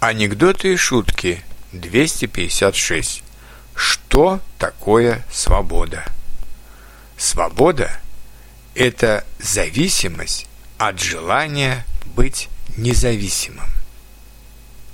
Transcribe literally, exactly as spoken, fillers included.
Анекдоты и шутки двести пятьдесят шесть. Что такое свобода? Свобода – это зависимость от желания быть независимым.